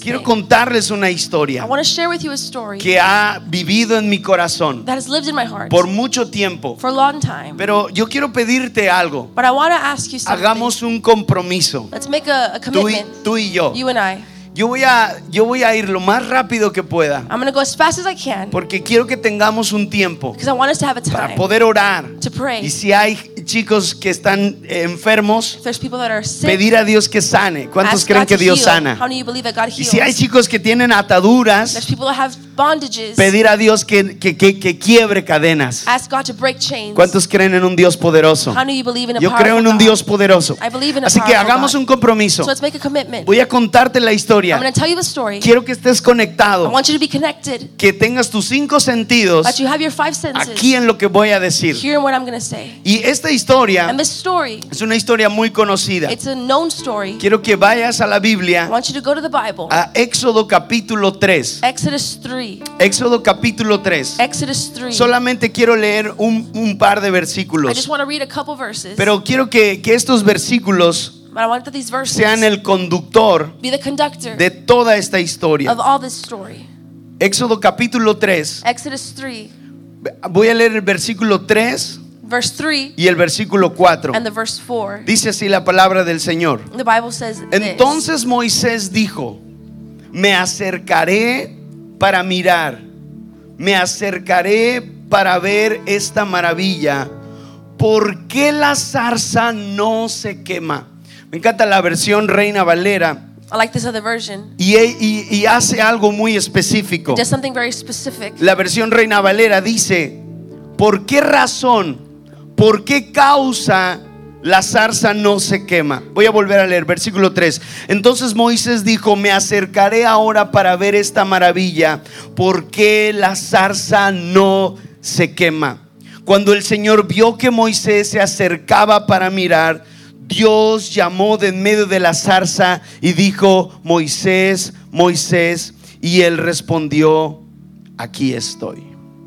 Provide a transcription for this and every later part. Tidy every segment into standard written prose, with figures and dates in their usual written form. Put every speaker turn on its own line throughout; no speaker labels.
Quiero contarles una
I
historia
want to share with you a story
que ha vivido en mi corazón
that has lived in my heart
por mucho tiempo.
for a long time.
Pero yo quiero pedirte algo.
But I want to ask you something.
Hagamos un compromiso.
Let's make a commitment,
Tú y yo.
you and I.
Yo voy a ir lo más rápido que pueda,
I'm going to go as fast as I can
porque quiero que tengamos un tiempo
because I want us to have a
para
time
poder orar.
to pray.
Y si hay chicos que están enfermos,
If there's people that are sick,
pedir a Dios que sane. ¿Cuántos
ask
creen
God
que
to
Dios
heal.
sana?
How many of you believe that God
Y
heals?
si hay chicos que tienen
There's
ataduras,
people that have bondages.
pedir a Dios que quiebre cadenas.
Ask God to break chains.
¿Cuántos creen en un Dios poderoso?
How many of you believe in a
Yo
powerful
creo en un
God?
Dios poderoso.
I believe in a
Así que
powerful
hagamos
God.
un compromiso.
So let's make a commitment.
Voy a contarte la
I'm
historia.
going to tell you the story.
Quiero que estés
I
conectado,
want you to be connected,
que tengas tus 5 sentidos
that you have your 5 senses.
aquí en lo que voy a decir.
Hearing what I'm going to say.
Y esta historia
And this story,
es una historia muy conocida.
it's a known story.
Quiero que vayas a la
I
Biblia,
want you to go to the Bible.
a Éxodo capítulo 3.
Exodus 3.
Éxodo capítulo 3.
Exodus 3.
Solamente quiero leer un par de
I just
versículos,
want to read a couple verses.
pero quiero que estos versículos
But I want that these verses
sean el conductor
be the conductor
de toda esta historia.
of all this story.
Éxodo capítulo 3.
Exodus 3,
Voy a leer el versículo 3
verse 3
y el versículo 4.
and the verse 4.
Dice así la palabra del Señor.
The Bible says this.
Entonces Moisés dijo: me acercaré para mirar, me acercaré para ver esta maravilla. ¿Por qué la zarza no se quema? Me encanta la versión Reina Valera
I like this other version.
y hace algo muy específico.
Just something very specific.
La versión Reina Valera dice: ¿por qué razón, por qué causa la zarza no se quema? Voy a volver a leer versículo 3. Entonces Moisés dijo: me acercaré ahora para ver esta maravilla. ¿Por qué la zarza no se quema? Cuando el Señor vio que Moisés se acercaba para mirar, Dios llamó de en medio de la zarza y dijo: Moisés, Moisés. Y él respondió: aquí estoy.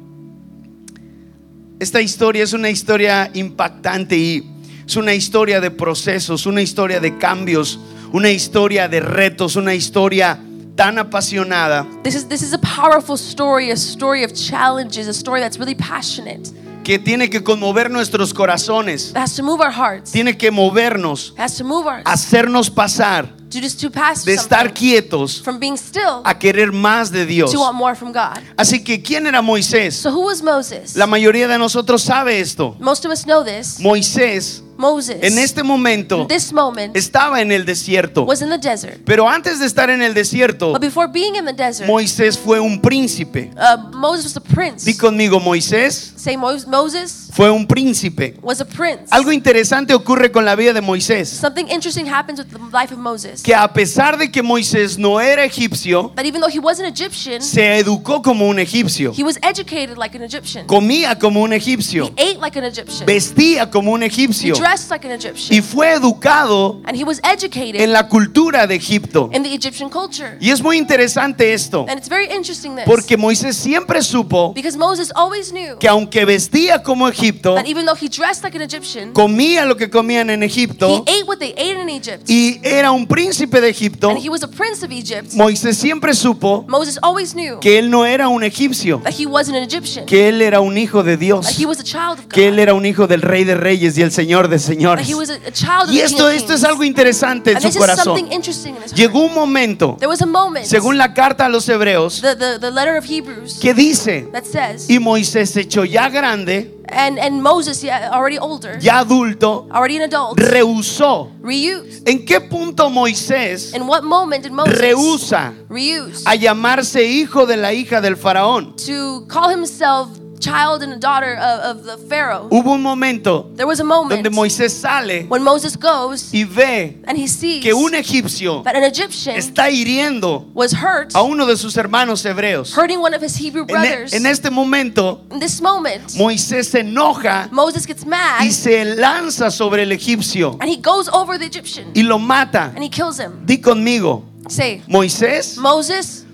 Esta historia es una historia impactante y es una historia de procesos, una historia de cambios, una historia de retos, una historia tan apasionada
This is a powerful story, a story of challenges, a story that's really passionate.
que tiene que conmover nuestros corazones,
It has to move our hearts.
tiene que movernos,
It has to move our
hacernos pasar
to pass
de estar
something
quietos
from being still
a querer más de Dios.
to want more from God.
Así que, ¿quién era Moisés?
So who was Moses?
La mayoría de nosotros sabe esto.
Most of us know this.
Moisés
Moses,
en este momento
in this moment,
estaba en el desierto,
was in the desert.
pero antes de estar en el desierto,
But before being in the desert,
Moisés fue un príncipe.
Moses was a prince.
Di conmigo: Moisés
Say Moses
fue un príncipe.
was a prince.
Algo interesante ocurre con la vida de Moisés,
Something interesting happens with the life of Moses.
que a pesar de que Moisés no era egipcio,
That even though he wasn't Egyptian,
se educó como un egipcio,
he was educated like an Egyptian.
comía como un
He
egipcio,
ate like an Egyptian.
vestía como un
He
egipcio
dressed like an Egyptian.
y fue educado
And he was educated
en la cultura de Egipto.
in the Egyptian culture.
Y es muy interesante esto,
And it's very interesting this.
porque Moisés siempre supo
Because Moses always knew
que aunque vestía como Egipto,
that even though he dressed like an Egyptian,
comía lo que comían en
he
Egipto
ate what they ate in Egypt.
y era un príncipe de Egipto,
And he was a prince of Egypt.
Moisés siempre supo
Moses always knew
que él no era un egipcio,
that he wasn't an Egyptian.
que él era un hijo de
That
Dios,
he was a child of God.
que él era un hijo del Rey de Reyes y el Señor de
That
señores.
he was a child of
Y
the King
esto
of
es
Kings.
algo interesante en
And
su
this is
corazón.
something interesting in his heart.
Llegó un momento,
There was a moment,
según la carta a los hebreos,
the letter of Hebrews,
que dice:
that says,
y Moisés hecho ya grande,
and Moses, yeah, already older,
ya adulto,
already an adult,
rehusó.
reused.
¿En qué punto Moisés
In what moment did Moses
rehúsa
reuse
a llamarse hijo de la hija del faraón?
to call himself child and a daughter of the Pharaoh?
Hubo un momento
There was a moment
donde Moisés sale
when Moses goes
y ve
and he sees
que un egipcio
that an Egyptian
está hiriendo
was hurt,
a uno de sus hermanos hebreos.
hurting one of his Hebrew brothers.
En este momento,
In this moment,
Moisés se enoja
Moses gets mad
y se lanza sobre el egipcio
and he goes over the Egyptian
y lo mata.
and he kills him.
Di conmigo:
Say,
Moisés
Moses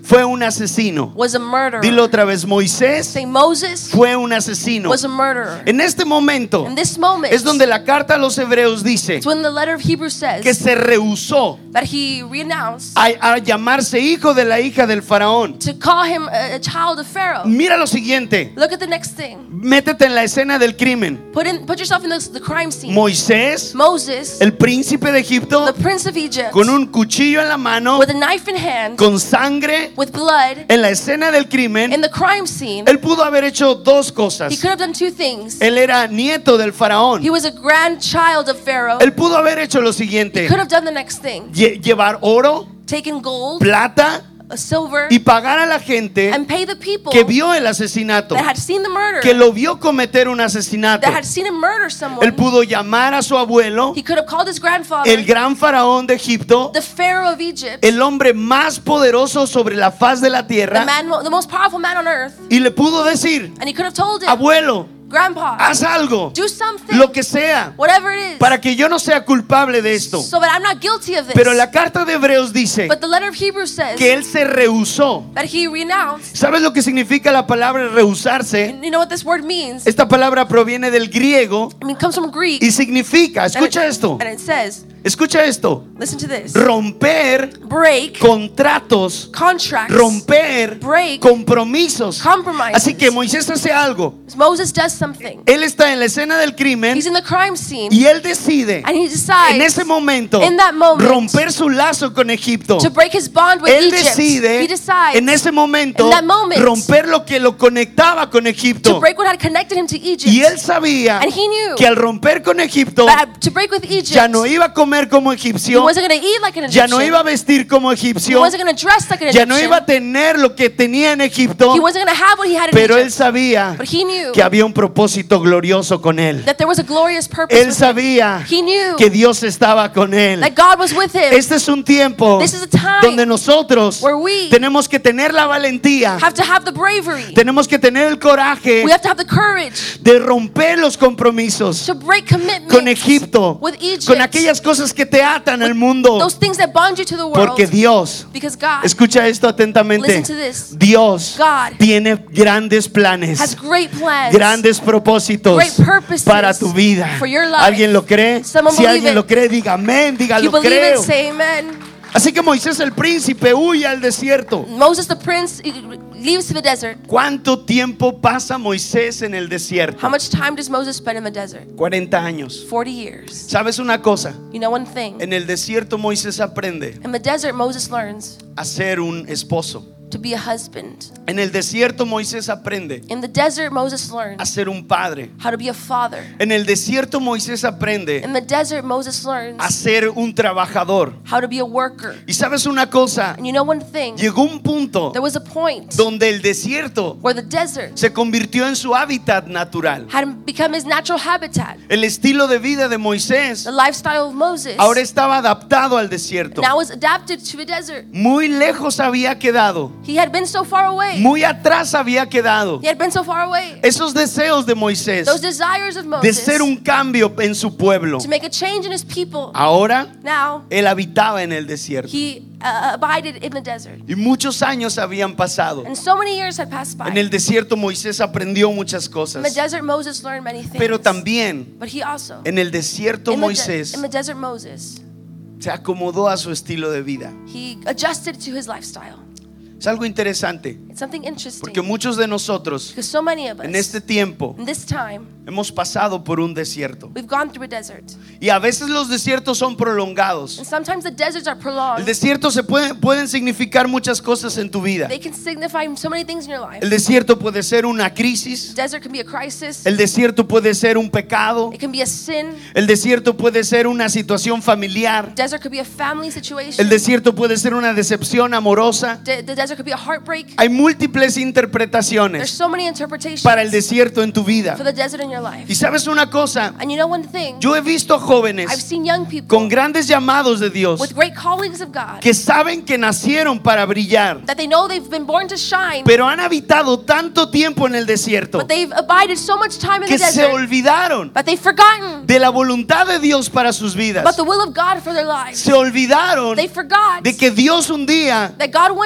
fue un asesino.
was a murderer.
Dilo otra vez, Moisés
Say Moses
fue un asesino.
was a murderer.
En este momento
In this moment,
es donde la carta a los hebreos dice
it's when the letter of Hebrews says
que se rehusó
that he renounced
a llamarse hijo de la hija del faraón.
to call him a child of Pharaoh.
Mira lo siguiente,
Look at the next thing.
métete en la escena del crimen.
Put yourself in the crime scene.
Moisés,
Moses,
el príncipe de Egipto,
the prince of Egypt,
con un cuchillo en la mano,
with a knife in hand,
con sangre,
with blood,
en la escena del crimen.
in the crime scene.
Él pudo haber hecho dos cosas.
He could have done two things.
Él era nieto del faraón.
He was a grandchild of Pharaoh.
Él pudo haber hecho lo
He
siguiente:
could have done the next thing.
llevar oro,
Taken gold,
plata
silver,
y pagar a la gente
and pay the people
que vio el asesinato,
that had seen the murder,
que lo vio cometer un asesinato.
that had seen him murder someone.
Él pudo llamar a su abuelo,
He could have called his grandfather,
el gran faraón de Egipto,
the Pharaoh of Egypt,
el hombre más poderoso sobre la faz de la
the
tierra,
most powerful man on earth,
y le pudo decir:
and he could have told him,
abuelo,
Grandpa,
haz algo,
do something,
lo que sea,
whatever it is,
para que yo no sea culpable de esto.
so that I'm not guilty of this.
Pero la carta de Hebreos dice
But the letter of Hebrews says
que él se rehusó.
that he renounced.
¿Sabes lo que significa la palabra rehusarse?
You know what this word means?
Esta palabra proviene del griego
I mean, it comes from Greek.
y significa, escucha esto,
And it says,
escucha esto,
listen to this.
romper
Break
contratos,
contracts.
romper
Break
compromisos.
compromises.
Así que Moisés hace algo.
Moses does something.
Él está en la escena del crimen
He's in the crime scene,
y él decide
and he decides
en ese momento
in that moment
romper su lazo con Egipto.
to break his bond with
Él
Egypt.
decide
He decides
en ese momento
in that moment
romper lo que lo conectaba con
to
Egipto.
break what had connected him to Egypt.
Y él sabía
And he knew
que al romper con Egipto
that to break with Egypt,
ya no iba a comer como
he
egipcio,
wasn't going to eat like an
ya
Egyptian.
no iba a vestir como
He
egipcio,
wasn't going to dress like an
ya
Egyptian.
no iba a tener lo que tenía en Egipto,
He wasn't going to have what he had in
pero él
Egypt.
sabía
But he knew
que había un propósito glorioso con él.
that there was a glorious purpose
Él
with him.
sabía
He knew
que Dios estaba con él.
that God was with him.
Este es un tiempo
This is a time
donde nosotros
where we
tenemos que tener la valentía,
have to have the bravery.
tenemos que tener el coraje
We have to have the courage
de romper los compromisos
to break commitment
con Egipto,
with Egypt,
con aquellas cosas que te atan al mundo,
those things that bond you to the world.
porque Dios,
Because God
escucha esto atentamente,
Listen to this.
Dios
God
tiene grandes planes,
has great plans,
grandes propósitos
great purposes
para tu vida.
for your life.
¿Alguien lo cree?
Someone
Si
believe
alguien
it.
lo cree, diga amén, diga
You
lo
believe
creo.
it, say amen.
Así que Moisés el príncipe huye al desierto.
Moses the prince leaves to the desert.
¿Cuánto tiempo pasa Moisés en el desierto?
How much time does Moses spend in the desert?
40 años.
40 years.
¿Sabes una cosa?
You know one thing?
En el desierto Moisés aprende
In the desert, Moses learns
a ser un esposo.
to be a husband.
En el desierto Moisés aprende
In the desert, Moses
a
learns
ser un padre.
how to be a father.
En el desierto Moisés aprende
In the desert, Moses learns
a ser un trabajador.
how to be a worker.
Y sabes una cosa,
And you know one thing?
llegó un punto
There was a point
donde el desierto
where the desert
se convirtió en su hábitat natural.
had become his natural habitat.
El estilo de vida de Moisés
The lifestyle of Moses
ahora estaba adaptado al desierto.
now was adapted to a desert.
Muy lejos había quedado,
He had been so far away.
muy atrás había quedado.
He had been so far away.
Esos deseos de Moisés
Those desires of
de
Moses
ser un cambio en su pueblo,
to make a change in his people.
ahora
Now
él habitaba en el desierto.
he abided in the desert.
Y muchos años habían pasado.
And so many years had passed by.
En el desierto Moisés aprendió muchas
In the
cosas.
desert, Moses learned many things.
Pero también
But he also,
en el desierto
in the
Moisés
desert, Moses,
se acomodó a su estilo de vida.
he adjusted to his lifestyle.
Es algo interesante
It's something interesting.
porque muchos de nosotros
Because so many of us,
en este tiempo
in this time,
hemos pasado por un desierto.
we've gone through a desert.
Y a veces los desiertos son prolongados.
And sometimes the deserts are
El
prolonged.
desierto pueden significar muchas cosas en tu vida.
They can signify so many things in your life.
El desierto puede ser una crisis.
Desert can be a crisis.
El desierto puede ser un pecado.
It can be a sin.
El desierto puede ser una situación familiar.
Desert could be a family situation.
El desierto puede ser una decepción amorosa.
The desert could be a heartbreak.
Hay múltiples
There's
interpretaciones
so many interpretations
para el desierto en tu vida.
for the desert in your life.
Y sabes una cosa,
And you know one thing?
yo he visto
I've
jóvenes
seen young people
con grandes llamados de Dios
with great callings of God
que saben que nacieron para brillar,
that they know they've been born to shine,
pero han habitado tanto tiempo en el desierto
but they've abided so much time in
que
the
se
desert,
olvidaron
but they've forgotten
de la voluntad de Dios para sus
about
vidas.
the will of God for their lives.
Se olvidaron
They forgot
de que Dios un día
that God one day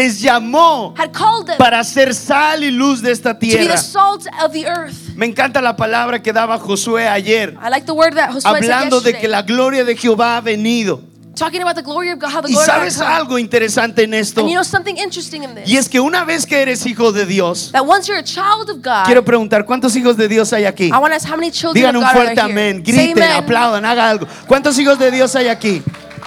les llamó
had called them
para ser sal y luz de esta
to be
tierra.
the salt of the earth.
Me encanta la palabra que daba Josué ayer,
I like the word that Josué said
hablando de
yesterday,
que la gloria de Jehová ha venido.
talking about the glory of God, how the
Y
glory of God
sabes
comes.
algo interesante en esto,
And you know something interesting in this?
y es que una vez que eres hijo de Dios,
That once you're a child of God,
quiero preguntar, ¿cuántos hijos de Dios hay aquí?
I want to ask how many children
Digan
of
un
God are
fuerte
there
amén,
here? Say
griten,
amen.
aplaudan, haga algo. ¿Cuántos hijos de Dios hay aquí?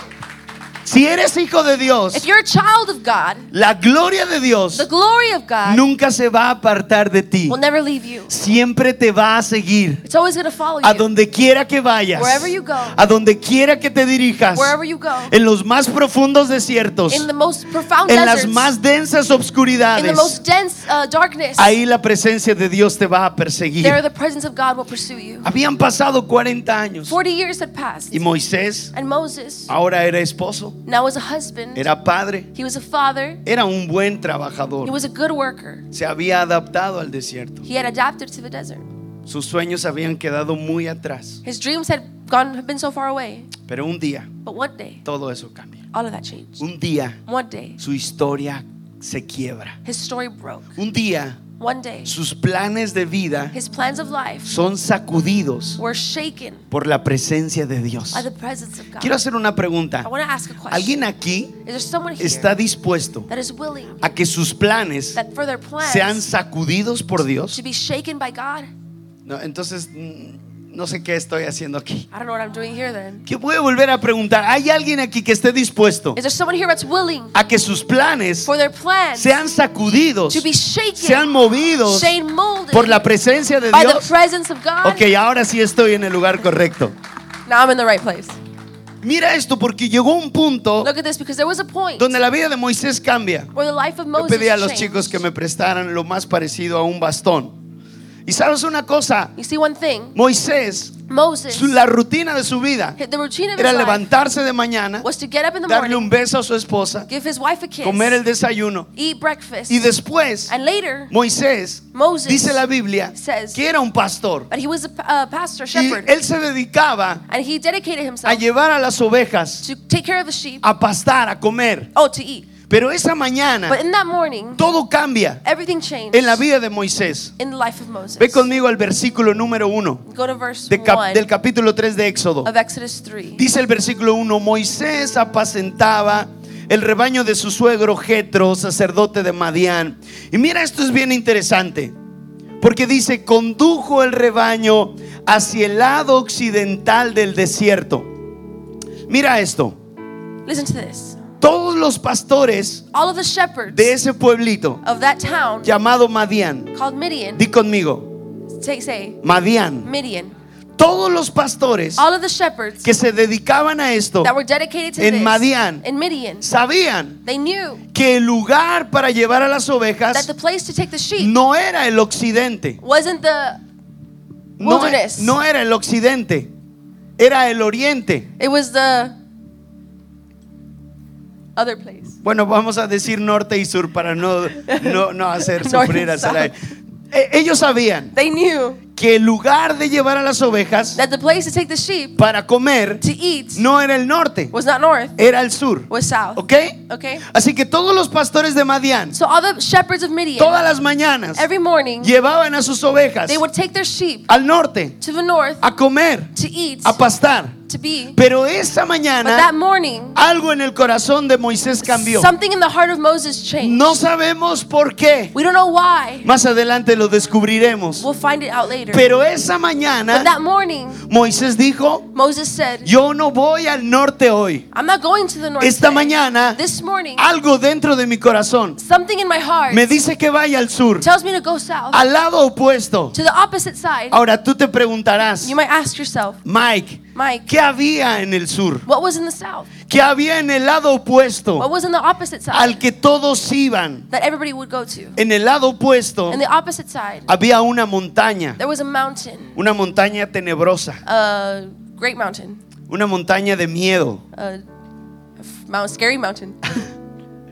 Si eres hijo de Dios,
If you're a child of God,
la gloria de Dios
the glory of God
nunca se va a apartar de ti.
will never leave you.
Siempre te va a seguir.
It's always going to follow
A
you.
donde quiera que vayas,
Wherever you go.
a donde quiera que te dirijas,
Wherever you go.
en los más profundos desiertos,
In the most profound
en las
deserts,
más densas
in the
obscuridades,
most dense darkness,
ahí la presencia de Dios te va a perseguir.
there the presence of God will pursue you.
Habían pasado 40 años
40 years had passed.
y Moisés
And Moses
ahora era esposo,
now was a husband.
era padre,
He was a father.
era un buen
He
trabajador.
was a good worker.
Se había adaptado al desierto.
He had adapted to the desert.
Sus sueños habían quedado muy atrás.
His dreams had been so far away.
Pero un día
But one day,
todo eso cambia.
all of that changed.
Un día
One day,
su historia se quiebra.
his story broke.
Un día
One day,
sus planes de vida
his plans of life
son sacudidos
were shaken
por la presencia de Dios.
by the presence of God.
Quiero hacer una pregunta.
I want to ask a question.
¿Alguien aquí
Is there someone here
está dispuesto
that is willing
a que sus planes
that for their plans
sean sacudidos por Dios?
to be shaken by God?
No, entonces no sé qué estoy haciendo aquí.
I don't know what I'm doing here then.
¿Qué voy a volver a preguntar? ¿Hay alguien aquí que esté dispuesto
Is there someone here that's willing
a que sus planes
for their plans
sean sacudidos,
to be shaken,
sean movidos
shade molded
por la presencia de
by the
Dios?
presence of God?
Ok, ahora sí estoy en el lugar correcto.
Now I'm in the right place.
Mira esto, porque llegó un punto
Look at this, because there was a point
donde la vida de Moisés cambia.
where the life of
Yo
Moses
pedí a los
changed.
chicos que me prestaran lo más parecido a un bastón. Y sabes una cosa,
You see one thing,
Moisés,
Moses,
la rutina de su vida
the routine of
era
his life
levantarse de mañana,
was to get up in the
darle
morning,
un beso a su esposa,
give his wife a kiss,
comer el desayuno
eat breakfast,
y después
and later
Moisés,
Moses
dice la Biblia,
says
que era un pastor
that he was a pastor,
y
shepherd,
él se dedicaba
and he dedicated
a
himself
llevar a las ovejas
to take care of the sheep,
a pastar, a comer.
to eat.
Pero esa mañana
But in that morning,
todo cambia
everything changed
en la vida de Moisés.
in the life of Moses.
Ve conmigo al versículo número 1
Go to verse
del
1
capítulo 3 de Éxodo.
of Exodus 3.
Dice el versículo 1: Moisés apacentaba el rebaño de su suegro Jetro, sacerdote de Madián. Y mira, esto es bien interesante, porque dice: condujo el rebaño hacia el lado occidental del desierto. Mira esto.
Listen to this.
Todos los pastores
All of the shepherds
de ese pueblito
of that town
llamado Madián,
called Midian,
di conmigo,
say
Madián.
Midian.
Todos los pastores
All of the shepherds
que se dedicaban a esto
that were dedicated to
en
this
Madián
in Midian,
sabían
they knew
que el lugar para llevar a las
that
ovejas
the place to take the sheep
no era el occidente,
wasn't the
no,
wilderness.
no era el occidente, era el oriente.
It was the other place.
Bueno, vamos a decir norte y sur para no hacer
North
sufrir a
and south.
Sarai. Ellos sabían
They knew
que el lugar de llevar a las ovejas
that the place to take the sheep
para comer
to eat
no era el norte,
was not north,
era el sur.
was south.
¿Ok?
Okay?
Así que todos los pastores de Madián,
So all the shepherds of Midian,
todas las mañanas,
every morning,
llevaban a sus ovejas
they would take their sheep
al norte
to the north
a comer,
to eat,
a pastar.
to be.
Pero esa
But that
mañana
morning,
algo en el corazón de Moisés cambió.
something in the heart of Moses changed.
No sabemos por qué.
We don't know why.
Más adelante lo descubriremos.
We'll find it out later.
Pero esa
But
mañana
that morning,
Moisés dijo:
Moses said,
yo no voy al norte hoy.
I'm not going to the north
Esta
today.
mañana
This morning,
algo dentro de mi corazón
something in my heart
me dice que vaya al sur,
tells me to go south,
al lado opuesto.
to the opposite side.
Ahora tú te preguntarás:
You might ask yourself,
Mike,
Mike,
¿qué había en el sur?
what was in the south?
¿Qué había en el lado
What
opuesto
was in the opposite side
al que todos iban?
that everybody would go to?
En el lado opuesto
In the opposite side,
había una montaña,
there was a mountain,
una montaña tenebrosa,
a great mountain,
una montaña de miedo.
a scary mountain.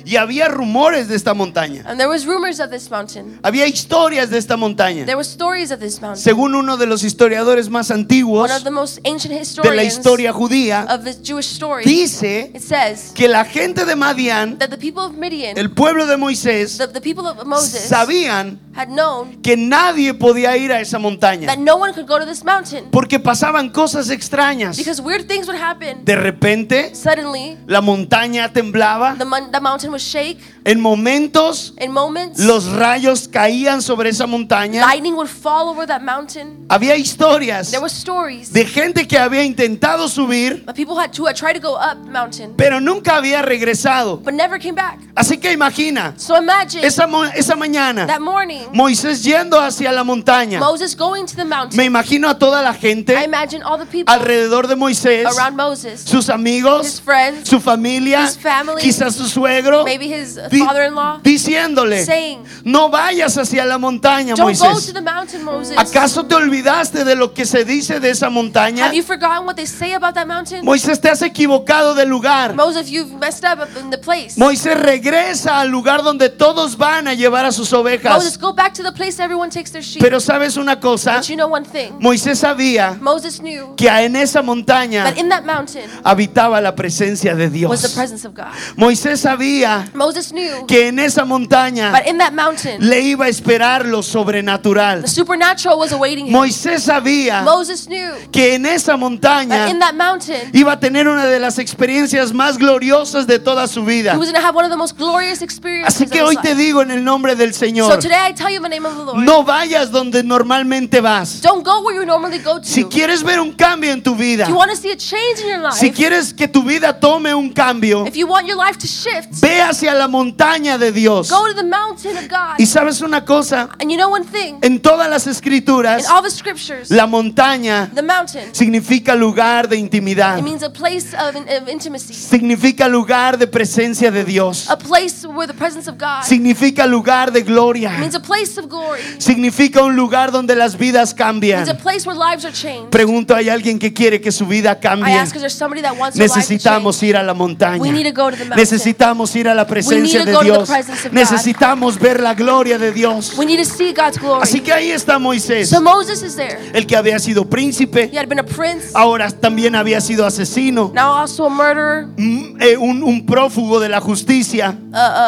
Y había rumores de esta montaña.
And there was rumors of this mountain.
Había historias de esta montaña.
There were stories of this mountain.
Según uno de los historiadores más antiguos
One of the most ancient
de la
historians
historia judía,
of the Jewish story,
dice
it says
que la gente de Madián,
that the people of Midian,
el pueblo de Moisés,
the people of Moses,
sabían
had known
que nadie podía ir a esa montaña
that no one could go to this mountain
porque pasaban cosas extrañas.
because weird things would happen.
De repente,
Suddenly,
la montaña temblaba.
the mountain would shake.
En momentos,
In moments,
los rayos caían sobre esa montaña.
lightning would fall over that mountain.
Había historias
There were stories
de gente que había intentado subir,
of people who had tried to go up the mountain
pero nunca había regresado.
but never came back.
Así que imagina,
So imagine
esa mañana,
that morning,
Moisés yendo hacia la montaña.
Moses going to the mountain.
Me imagino a toda la
I
gente
imagine all the people
alrededor de Moisés,
around Moses,
sus amigos,
his friends,
su familia,
his family,
quizás su suegro,
maybe his
di-
father-in-law,
diciéndole,
saying,
no vayas hacia la montaña,
don't go
Moisés.
to the mountain, Moses.
¿Acaso te olvidaste de lo que se dice de esa montaña?
Have you forgotten what they say about that mountain?
Moisés, te has equivocado de lugar.
Moses, you've messed up in the place.
Moisés, regresa al lugar donde todos van a llevar a sus
Moses,
ovejas.
go back to the place everyone takes their sheep.
Pero ¿sabes una cosa?
But you know one thing.
Moisés sabía
Moses knew
que en esa montaña
that in that mountain
habitaba la presencia de
was the
Dios.
presence of God.
Moisés sabía
Moses knew
que en esa montaña
but in that mountain
le iba a esperar lo sobrenatural.
the supernatural was awaiting him.
Moisés sabía
Moses knew
que en esa
that in
montaña
that mountain
iba a tener una de las experiencias más gloriosas de toda su vida.
he was going to have one of the most glorious experiences
Así que
of
hoy
his
te
life.
digo en el nombre del
So
Señor,
today I tell you in the name of the Lord,
no vayas donde normalmente vas.
don't go where you normally go to.
Si quieres ver un cambio en tu vida,
If you want to see a change in your life,
si quieres que tu vida tome un cambio,
if you want your life to shift,
ve hacia la montaña de Dios.
go to the mountain of God.
Y sabes una cosa,
And you know one thing,
en todas las escrituras,
in all the scriptures,
la montaña
the mountain,
significa lugar de intimidad,
it means a place of intimacy,
significa lugar de presencia de Dios,
a place where the presence of God,
significa lugar de
it
gloria,
means a place of glory, it
significa un lugar donde las vidas
means a
cambian.
place where lives are changed.
Pregunto, ¿hay alguien que quiere que su vida
I
cambie?
ask because there's somebody that wants their life to
Necesitamos
change.
ir a la montaña.
We need to go to the mountain.
Necesitamos ir a la presencia
We need
de
to go to the
Dios.
presence of God.
Necesitamos ver la gloria de Dios.
We need to see God's glory.
Así que ahí está Moisés,
So Moses is there.
el que había sido príncipe,
He had been a prince,
ahora también había sido asesino,
now also a murderer,
un prófugo de la justicia,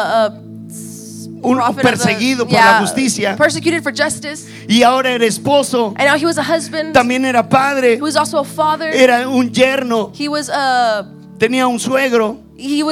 un
prophet of the-
perseguido por la justicia,
persecuted for justice,
y ahora era esposo,
and now he was a husband.
también era padre,
He was also a father.
era un yerno,
He was
tenía un suegro,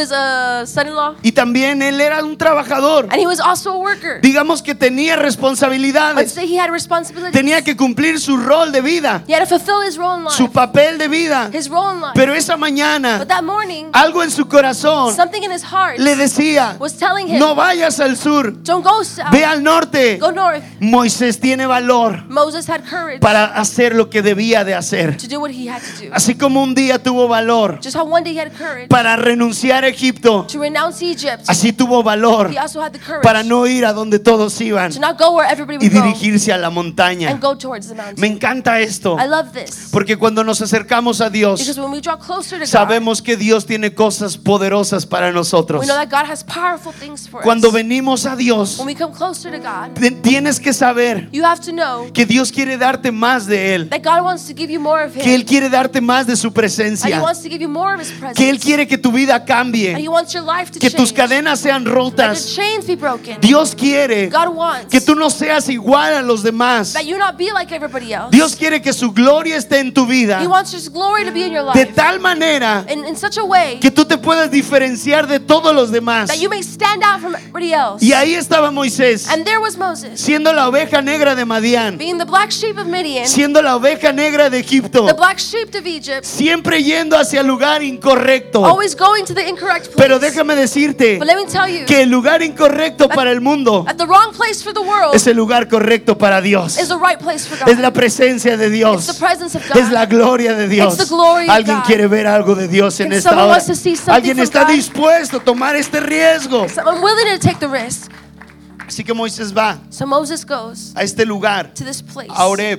a son-in-law,
y también él era un trabajador.
and he was also a worker.
Digamos que tenía
Let's
responsabilidades,
say he had responsibilities.
tenía que cumplir su rol de vida,
He had to fulfill his role in life.
su papel de vida.
His role in life.
Pero esa mañana,
But that morning,
algo en su corazón
something in his heart
le decía,
was telling him,
no vayas al sur,
don't go south,
ve al norte.
go north.
Moisés tiene valor
Moses had courage
para hacer lo que debía de hacer.
to do what he had to do.
Así como un día tuvo valor
Just how one day he had courage
para renunciar a Egipto,
to renounce Egypt,
así tuvo valor
he also had the courage
para no ir a donde todos iban
to not go where everybody
y
would go
dirigirse a la montaña.
and go towards the mountain.
Me encanta esto,
I love this
porque cuando nos acercamos a Dios,
because when we draw closer to God,
sabemos que Dios tiene cosas poderosas para nosotros.
we know that God has powerful things for
Cuando
us.
venimos a Dios,
When we come closer to God,
tienes que saber
you have to know
que Dios quiere darte más de Él,
that God wants to give you more of
que Él
Him,
quiere darte más de su
and He
presencia,
wants to give you more of His presence,
que Él quiere que tu vida
and
cambie,
He wants your life to
que tus
change,
cadenas sean
that
rotas.
the chains be broken.
Dios quiere
God wants
que tú no seas igual a los demás.
that you not be like everybody else.
Dios quiere que su gloria esté en tu vida
He wants His glory to be in your
de
life
tal manera
in such a way
que tú te puedas diferenciar de todos los demás.
that you may stand out from everybody else.
Y ahí estaba Moisés,
And there was Moses,
siendo la oveja negra de Madián,
being the black sheep of Midian,
siendo la oveja negra de Egipto,
the black sheep of Egypt,
siempre yendo hacia el lugar incorrecto.
always going to the incorrect place.
Pero déjame decirte
But let me tell you,
que el lugar incorrecto para el mundo
at the wrong place for the world
es el lugar correcto para Dios.
is the right place for God.
Es la presencia de
It's the
Dios.
presence of God.
Es la gloria de Dios.
It's the glory of
Alguien
God.
quiere ver algo de Dios en
And
esta
someone
hora.
wants to see something
Alguien
from
está
God.
dispuesto a tomar este riesgo.
So I'm willing to take the risk.
Así que Moisés va
So Moses goes
a este lugar,
to this place,
a Horeb.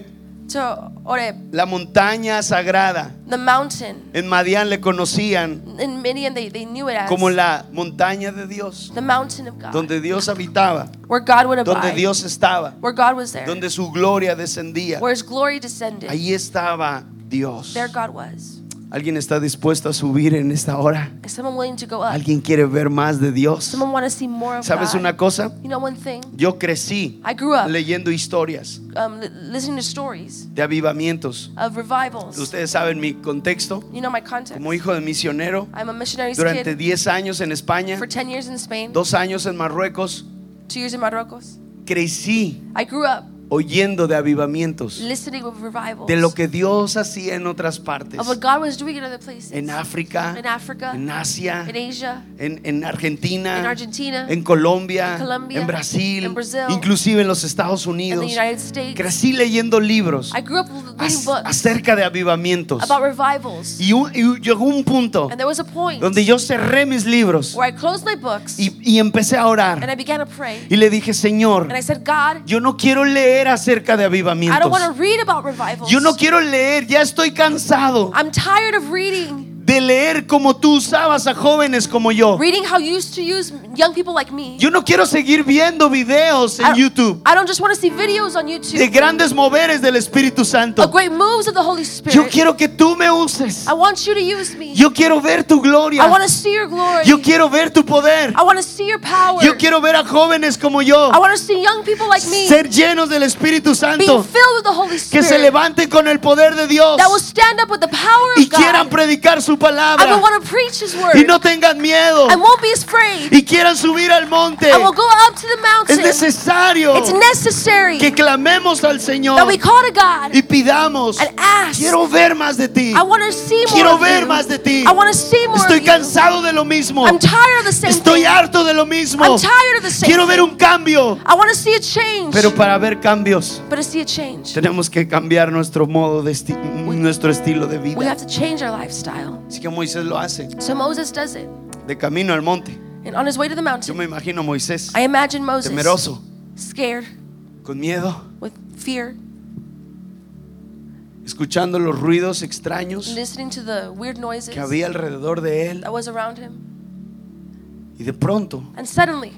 to Oreb,
la montaña sagrada.
the mountain.
En Madián le conocían
In Midian, they knew it as
como la montaña de Dios,
the mountain of God,
donde Dios habitaba,
where God would
donde
abide,
Dios estaba,
where God was there,
donde su gloria descendía.
where His glory descended.
Ahí estaba Dios.
There God was.
¿Alguien está dispuesto a subir en esta hora?
Is someone willing to go up?
¿Alguien quiere ver más de Dios?
Someone want to see more of
¿Sabes
God?
una cosa?
You know one thing?
Yo crecí
I grew up
leyendo historias
listening to stories
de avivamientos.
of revivals.
Ustedes saben mi contexto.
You know my context.
Como hijo de misionero,
I'm a missionary's
durante
kid
10 años en España,
for 10 years in Spain,
2 años en Marruecos,
2 years in Marruecos.
crecí
I grew up
oyendo de avivamientos,
listening of revivals,
de lo que Dios hacía en otras partes,
of what God was doing in other places.
en África,
In Africa,
en Asia,
in Asia,
en Argentina,
in Argentina,
en Colombia,
in Colombia,
en Brasil,
in Brazil,
inclusive en los Estados
in
Unidos.
the United States.
Crecí leyendo libros
I grew up reading books
acerca de avivamientos.
about revivals.
Y llegó un punto
And there was a point
donde yo cerré mis libros
where I closed my books
y empecé a
and
orar.
I began to pray.
Y le dije, Señor,
And I said, God,
yo no quiero leer acerca de
I don't want to
avivamientos.
read about revivals.
Yo no quiero leer, ya estoy cansado
I'm tired of reading
de leer como tú usabas a jóvenes como yo.
reading how you used to use young people like me.
Yo no quiero seguir viendo videos en YouTube
I don't just want to see videos on YouTube
de grandes moveres del Espíritu
of
Santo.
great moves of the Holy
Yo
Spirit.
quiero que tú me uses.
I want you to use me.
Yo quiero ver tu
I
gloria.
want to see your glory.
Yo quiero ver tu poder.
I want to see your power.
Yo quiero ver a jóvenes como yo
I want to see young people like me
ser llenos del Espíritu
being
Santo,
filled with the Holy
que se
Spirit,
levanten con el poder de Dios
that will stand up with the power
y
of
quieran
God.
predicar su
I will
palabra
want to preach His word.
y no tengan miedo
I won't be afraid.
y quieran subir al monte.
I will go up to the
Es
mountain.
necesario
It's necessary
que clamemos al
that
Señor
we call to God
y pidamos,
and ask.
quiero ver más de ti,
I want to see more
quiero
of
ver
you.
más de ti.
I want to see more
Estoy
of you.
cansado de lo mismo,
I'm tired of the same
estoy
thing.
harto de lo mismo,
I'm tired of the same
quiero ver
thing.
un cambio.
I want to see a change.
Pero para ver cambios
But to see a change,
tenemos que cambiar nuestro modo de nuestro estilo de
we
vida.
have to change our lifestyle.
Así que Moisés lo hace
So Moses does it.
de camino al monte.
And on his way to the
Yo
mountain,
me imagino a Moisés
I imagine Moses
temeroso,
scared,
con miedo,
with fear,
escuchando los ruidos extraños
listening to the weird noises
que había alrededor de él.
that was around him.
Y de pronto,
And suddenly,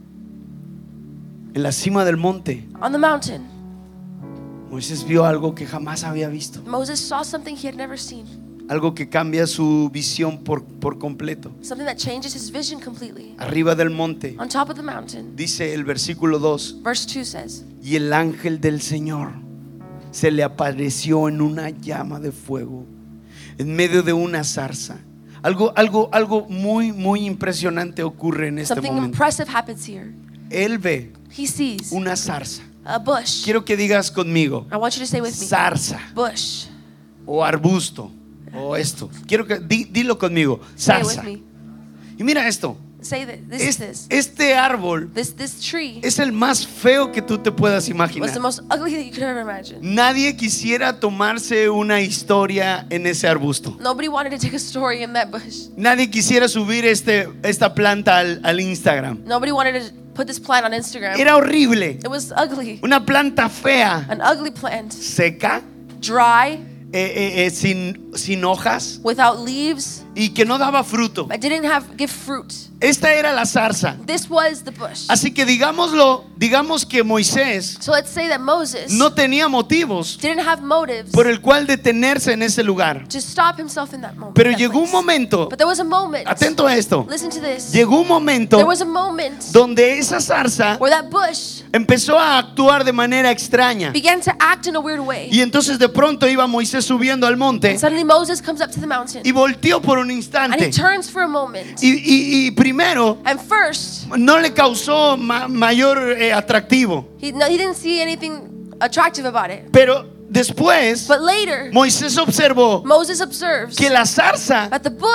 en la cima del monte,
on the mountain,
Moisés vio algo que jamás había visto.
Moses saw something he had never seen.
Algo que cambia su visión por completo.
Something that changes his vision completely.
Arriba del monte,
On top of the mountain,
dice el versículo 2,
verse 2 says,
y el ángel del Señor se le apareció en una llama de fuego, en medio de una zarza. Algo muy impresionante ocurre en este
something
momento.
impressive happens here.
Él ve
He sees
una zarza.
a bush.
Quiero que digas conmigo,
I want you to say with me,
zarza
bush.
o arbusto o esto. Quiero que dilo conmigo,
Say it with
zarza.
me.
Y mira esto,
Say that this is
este árbol
this tree
es el más feo que tú te puedas
was
imaginar.
the most ugly that you could ever imagine.
Nadie quisiera tomarse una historia en ese arbusto.
Nobody wanted to take a story in that bush.
Nadie quisiera subir esta planta al Instagram.
Nobody wanted to put this plant on Instagram.
Era horrible.
It was ugly.
Una planta fea,
An ugly plant.
seca,
Dry,
sin hojas
without leaves.
y que no daba fruto.
I didn't give fruit.
Esta era la zarza.
This was the bush.
Así que digamos que Moisés
So let's say that Moses
no tenía motivos
didn't have motives
por el cual detenerse en ese lugar.
to stop himself in that moment.
Pero
that
llegó un
place.
momento,
But there was a moment.
atento a esto,
Listen to this.
llegó un momento
There was a moment
donde esa zarza
where that bush
empezó a actuar de manera extraña.
began to act in a weird way.
Y entonces de pronto iba Moisés subiendo al monte
And suddenly Moses comes up to the mountain
y volteó por un
and he
instante.
turns for a moment.
Y primero
And first,
no le causó mayor atractivo.
he didn't see anything attractive about it.
Pero después
But later,
Moisés observó
Moses observes
que la zarza
that the bush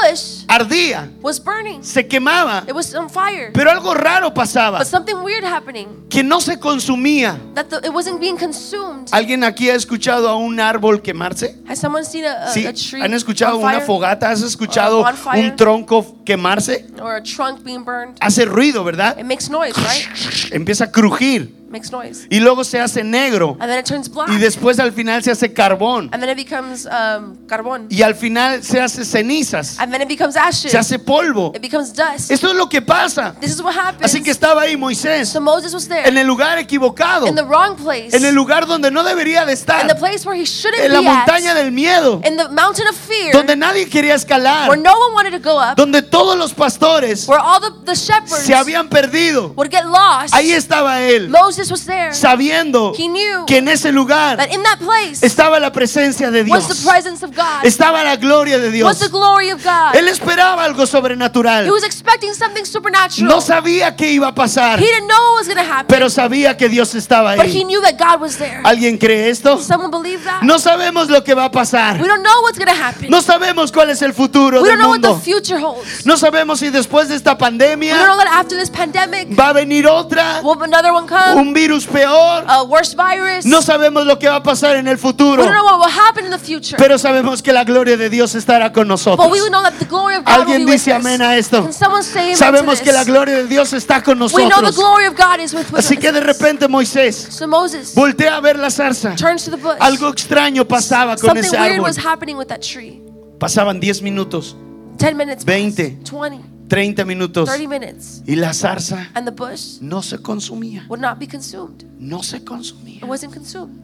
ardía,
was burning.
se quemaba,
It was on fire.
pero algo raro pasaba,
But something weird happening.
que no se consumía.
That it wasn't being consumed.
¿Alguien aquí ha escuchado a un árbol quemarse?
Has someone seen
Sí.
a tree
¿Han escuchado
on
una
fire?
fogata? ¿Has escuchado
Or a bonfire?
un tronco quemarse?
Or a trunk being burned?
Hace ruido, ¿verdad?
It makes noise, right?
Empieza a crujir
Makes noise.
y luego se hace negro
And then it turns black.
y después al final se hace carbón
And then it becomes carbon.
y al final se hace cenizas,
And then it becomes ashes.
se hace polvo.
It becomes dust.
Esto es lo que pasa.
This is what happens.
Así que estaba ahí Moisés
So Moses was there
en el lugar equivocado,
in the wrong place.
en el lugar donde no debería de
In the
estar,
place where he shouldn't
en la
be
montaña
at.
del miedo,
In the mountain of fear.
donde nadie quería escalar,
Where no one wanted to go up.
donde todos los pastores
Where all the shepherds
se habían perdido.
would get lost.
Ahí estaba él,
Moses was there.
sabiendo
He knew
que en ese lugar
that in that place
estaba la presencia de
was the
Dios,
presence of God.
estaba la gloria de
Was the
Dios.
glory of God.
Él esperaba algo sobrenatural.
He was expecting something supernatural.
No sabía qué iba a pasar,
He didn't know what was going to happen.
pero sabía que Dios estaba
But he
ahí.
knew that God was there.
¿Alguien cree esto?
Someone believe that?
No sabemos lo que va a pasar.
We don't know what's going to happen.
No sabemos cuál es el futuro
We
del
don't know what the
mundo.
future holds.
No sabemos si después de esta
We don't
pandemia
know that after this pandemic,
va a venir otra,
will another one come?
un virus peor.
A worse virus?
No sabemos lo que va a pasar en el
We
futuro,
don't know what will happen in the future.
pero sabemos que la gloria de Dios estará con
But
nosotros.
we know that the glory of God will
Alguien
be with
dice
us.
amén a esto.
Can someone say amen
Sabemos
to
que la
this?
gloria de Dios está con
We know the
nosotros.
glory of God is with
Así que de
us.
repente Moisés
So Moses
voltea a ver la zarza.
turns to the bush.
Algo extraño pasaba con
Something
ese
weird
árbol.
was happening with that tree.
Pasaban 10 minutos,
10 minutes
20.
passed, 20,
30 minutos
30 minutes.
y la zarza
And the bush
no se consumía.
would not be consumed.
No se consumía.
It wasn't consumed.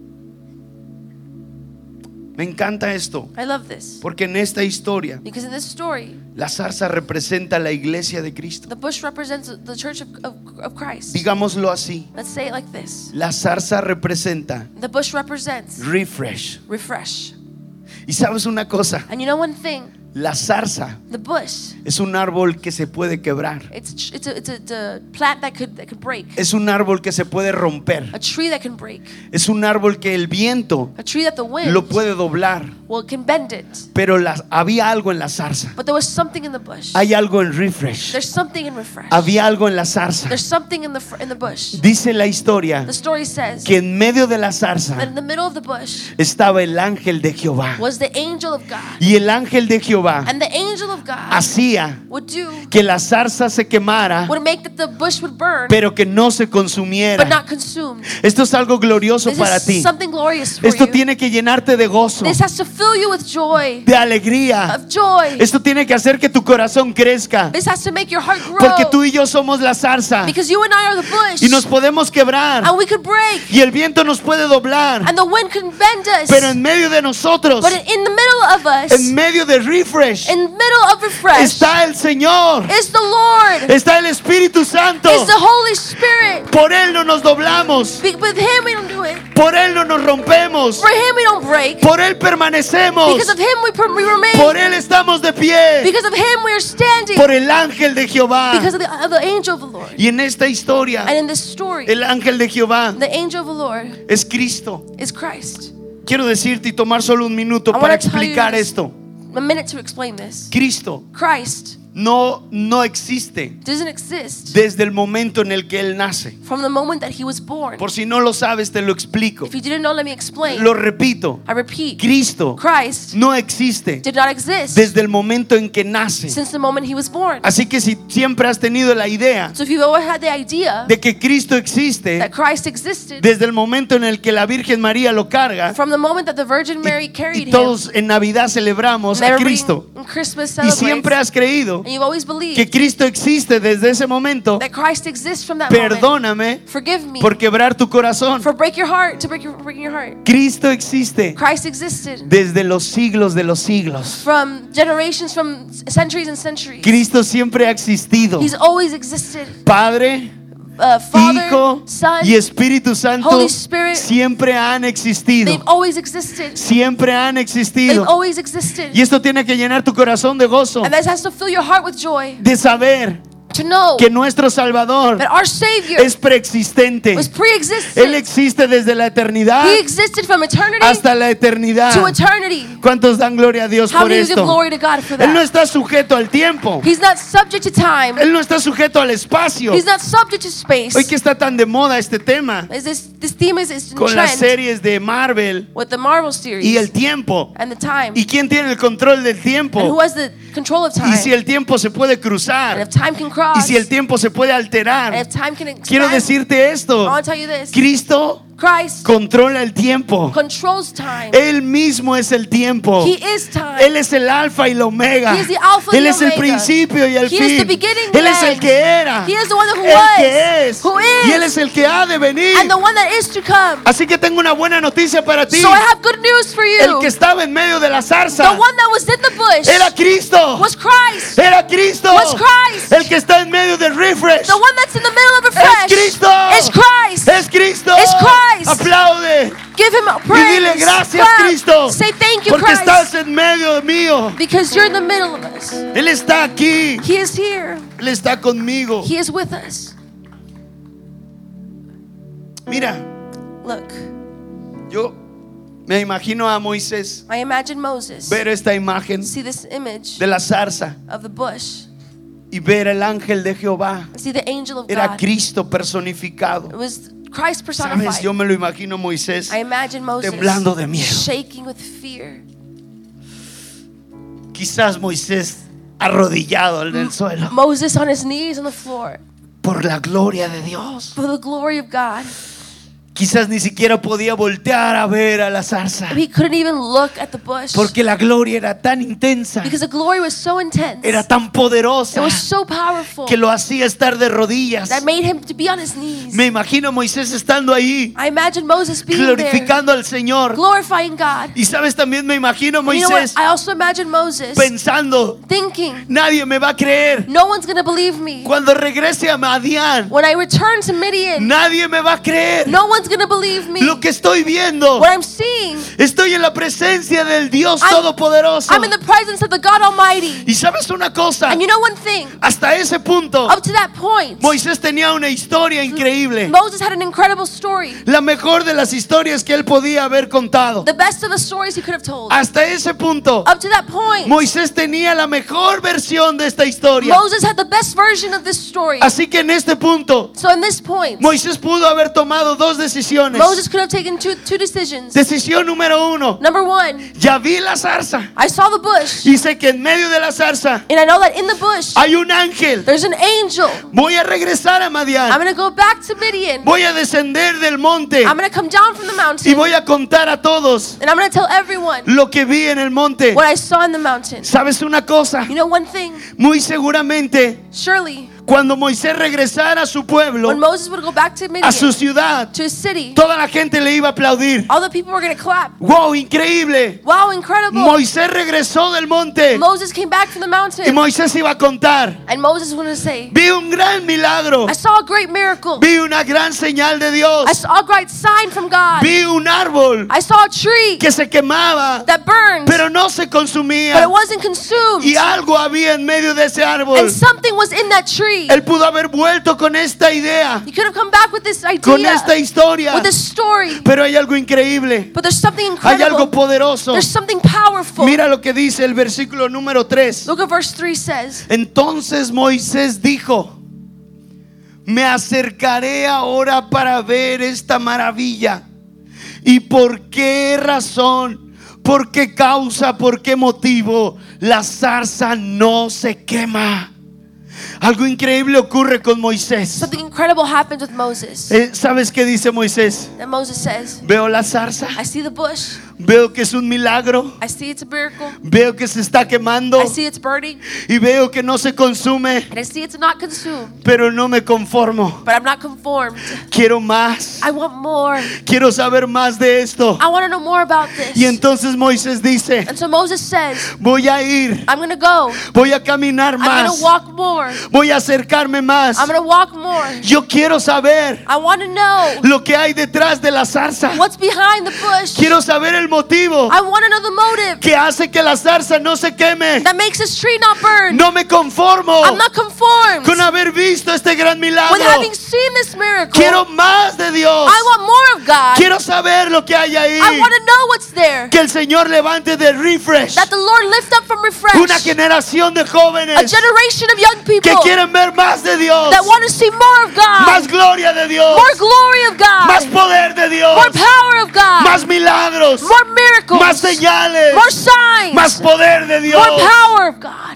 Me encanta esto,
I love this.
porque en esta historia
Because in this story,
la zarza representa la iglesia de Cristo.
the bush represents the church of Christ.
Digámoslo así,
Let's say it like this.
la zarza representa
The bush represents
refresh.
refresh.
Y sabes una cosa,
And you know one thing?
la zarza
The bush,
es un árbol que se puede quebrar.
it's a plant that could break.
Es un árbol que se puede romper.
A tree that can break.
Es un árbol que el viento
A tree that the wind
lo puede doblar.
can bend it.
Pero había algo en la zarza.
But there was something in the bush.
Hay algo en refresh.
There's something in refresh.
Había algo en la zarza.
There's something in the bush.
Dice la historia
The story says
que en medio de la
that
zarza
in the middle of the bush
estaba el ángel de Jehová.
was the angel of God.
Y el ángel de Jehová
And the angel of God
hacía
would do,
que la zarza se quemara,
would make that the bush would burn,
pero que no se
but
consumiera.
not consumed.
Esto es algo glorioso
This
para
is
ti.
something glorious for
Esto
you.
tiene que llenarte de gozo,
This has to fill you with joy,
de alegría.
of joy.
Esto tiene que hacer que tu corazón crezca,
This has to make your heart
porque
grow.
tú y yo somos la zarza
Because you and I are the bush.
y nos podemos quebrar
And we could break.
y el viento nos puede doblar,
And the wind can bend us.
pero en medio de nosotros,
But in the middle of us,
en medio de refresh,
in the middle of refresh,
está el Señor,
is the Lord,
está el Espíritu Santo.
is the Holy Spirit.
Por Él no nos doblamos,
With Him we don't do it.
por Él no nos rompemos,
For Him we don't break.
por Él permanecemos,
Because of Him we remain.
por Él estamos de pie,
Because of Him we are standing.
por el ángel de Jehová.
Because of the angel of the Lord.
Y en esta historia,
And in this story,
el ángel de Jehová
the angel of the Lord
es Cristo.
is Christ.
Quiero decirte y tomar solo un minuto
I
para
wanna tell you
explicar
this.
esto.
A minute to explain this.
Cristo
Christ
no existe
doesn't exist
desde el momento en el que Él nace.
from the moment that He was born.
Por si no lo sabes, te lo explico.
If you didn't know, let me explain.
Lo repito.
I repeat.
Cristo
Christ
no existe
did not exist
desde el momento en que nace.
since the moment He was born.
Así que si siempre has tenido la idea
So if you've always had the idea
de que Cristo existe
that Christ existed
desde el momento en el que la Virgen María lo carga
from the moment that the Virgin Mary
y
carried Him,
todos en Navidad celebramos
and
a
everybody
Cristo
in Christmas
y siempre
celebrates,
has creído
and you've always believed
que Cristo existe desde ese momento,
that Christ exists from that moment.
perdóname
Forgive me
por quebrar tu corazón.
for breaking your heart.
Cristo existe
Christ existed
desde los siglos de los siglos.
from generations, from centuries and centuries.
Cristo siempre ha existido.
He's always existed.
Padre,
Father,
Hijo
Son,
y Espíritu Santo
Holy Spirit,
siempre han existido.
they've always existed.
Siempre han
They've
existido.
always existed.
Y esto tiene que llenar tu corazón de gozo,
And this has to fill your heart with joy.
de saber
to know
que nuestro Salvador
that our Savior
es preexistente.
was
Él
pre-existent.
existe desde la eternidad
He existed from eternity
hasta la eternidad.
to eternity.
¿Cuántos dan gloria a Dios
How
por
do you give
esto?
glory to God for
Él no
that?
está sujeto al tiempo.
He's not subject to time.
Él no está sujeto al espacio.
He's not subject to space.
Hoy que está tan de moda este tema
This theme is in
con las
trend
series de Marvel
with the Marvel series
y el tiempo.
and the time.
¿Y quién tiene el control del
And who
tiempo?
has the control of time?
Y si el tiempo se puede
And
cruzar.
if time can cross.
Y si el tiempo se puede
And
alterar.
if time can expand.
Quiero decirte
I
esto.
want to tell you this.
Cristo
Christ
controla el tiempo.
controls time.
Él mismo es el tiempo.
He is time.
Él es el alfa y el omega.
He is the alpha
Él
and
es el
omega.
principio y el
He is the
fin.
beginning
Él
and
es el
end.
que era.
He is the one who
El
was,
que es.
who is,
Y Él es el que ha de venir.
and the one that is to come.
Así que tengo una buena noticia para ti.
So I have good news for
El
you.
que estaba en medio de la
The
zarza
one that was in the bush
era Cristo.
was Christ.
Era Cristo.
Was Christ.
El que está en medio del refresh
The one that's in the middle of the
es
fresh
Cristo.
is Christ.
Es Cristo.
It's Christ.
Aplaude.
Give him a
Y
praise.
dile gracias,
Clap.
Cristo.
Say thank you,
Porque
Christ.
estás en medio mío.
Because you're in the middle of us.
Él está aquí.
He is here.
Él está conmigo.
He is with us.
Mira,
Look,
yo me imagino a Moisés
I imagine Moses
ver esta imagen
see this image
de la zarza
of the bush.
y ver el ángel de Jehová.
See the angel of
Era
God.
Cristo personificado.
It was Christ
Sabes,
personified.
yo me lo imagino a Moisés
I imagine Moses
temblando de miedo.
shaking with fear.
Quizás Moisés arrodillado en el suelo
Moses on his knees on the floor
por la gloria de Dios.
for the glory of God.
Quizás ni siquiera podía voltear a ver a la zarza
He couldn't even look at the bush
porque la gloria era tan intensa,
because the glory was so intense.
era tan
It
poderosa
was so powerful
que lo hacía estar de rodillas.
that made him to be on his knees.
Me imagino a Moisés estando ahí
I imagine Moses being there,
glorificando al Señor.
glorifying God.
Y sabes, también me imagino a
And you know what?
Moisés
I also imagine Moses
pensando,
thinking,
nadie me va a creer.
no one's going to believe me.
Cuando regrese a Madián,
When I return to Midian,
nadie me va a creer.
no one's going to believe me.
Lo que estoy viendo,
What I'm seeing,
estoy en la presencia del Dios
I'm-
Todopoderoso.
I'm in the presence of the God Almighty.
Y sabes una cosa,
And you know one thing,
hasta ese punto
up to that point,
Moisés tenía una historia increíble,
Moses had an incredible story.
la mejor de las historias que él podía haber contado.
The best of the stories he could have told.
Hasta ese punto
Up to that point,
Moisés tenía la mejor versión de esta historia.
Moses had the best version of this story.
Así que en este punto
So in this point,
Moisés pudo haber tomado dos decisiones.
Moses could have taken two decisions.
Decisión número uno,
Number one,
ya vi la zarza
I saw the bush,
y sé que en medio de la zarza
and I know that in the bush,
hay un ángel.
there's an angel.
Voy a regresar a
I'm
Madián.
going to go back to Midian.
Voy a descender del monte
I'm going to come down from the
y
mountain,
voy a contar a todos
and I'm going to tell everyone
lo que vi en el monte.
what I saw in the mountain.
¿Sabes una cosa?
You know one thing,
Muy seguramente
surely,
cuando Moisés regresara a su pueblo,
when Moses would go back to
a
Midian,
su ciudad,
to his city,
toda la gente le iba a aplaudir.
all the people were going to clap.
¡Wow! Increíble.
Wow, incredible.
Moisés regresó del monte
Moses came back from the
y
mountain,
Moisés iba a contar.
and Moses wanted to say,
Vi un gran milagro.
I saw a great miracle.
Vi una gran señal de Dios.
I saw a great sign from God.
Vi un árbol
I saw a tree
que se quemaba,
that burned,
pero no se
but
consumía.
it wasn't consumed.
Y algo había en medio de ese árbol.
And something was in that tree.
Él pudo haber vuelto con esta idea,
You could have come back with this
con
idea,
esta historia.
with this story.
Pero hay algo increíble.
But there's something
Hay algo
incredible.
poderoso.
There's something powerful.
Mira lo que dice el versículo número 3.
Look at verse 3 says,
Entonces Moisés dijo: me acercaré ahora para ver esta maravilla. ¿Y por qué razón? ¿Por qué causa? ¿Por qué motivo la zarza no se quema? Algo increíble ocurre con Moisés.
something incredible happens with Moses.
¿Sabes qué dice Moisés?
And Moses says,
Veo la zarza,
I see the bush.
veo que es un milagro,
I see it's a miracle.
veo que se está quemando
I see it's burning.
y veo que no se consume,
And I see it's not consumed.
pero no me conformo.
But I'm not conformed.
Quiero más,
I want more.
quiero saber más de esto.
I want to know more about this.
Y entonces Moisés dice:
And so Moses says,
voy a ir,
I'm going to go.
voy a caminar
I'm going
más,
to walk more.
voy a acercarme más.
I'm going to walk more.
Yo quiero saber
I want to know
lo que hay detrás de la zarza.
what's behind the bush.
Quiero saber el motivo
I want to know the motive
que hace que la zarza no se queme.
that makes this tree not burn.
No me conformo
I'm not conformed
con haber visto este gran milagro.
with having seen this miracle.
Quiero más de Dios.
I want more of God.
Quiero saber lo que hay ahí.
I want to know what's there.
Que el Señor levante de refresh
That the Lord lift up from refresh
una generación de
a
jóvenes
generation of young
que
people
quieren ver más de Dios,
that want to see more of God,
más gloria de Dios,
more glory of
más
God,
poder de Dios,
more power of God,
más milagros,
more miracles,
más señales,
more signs,
más poder de Dios.
more power of God.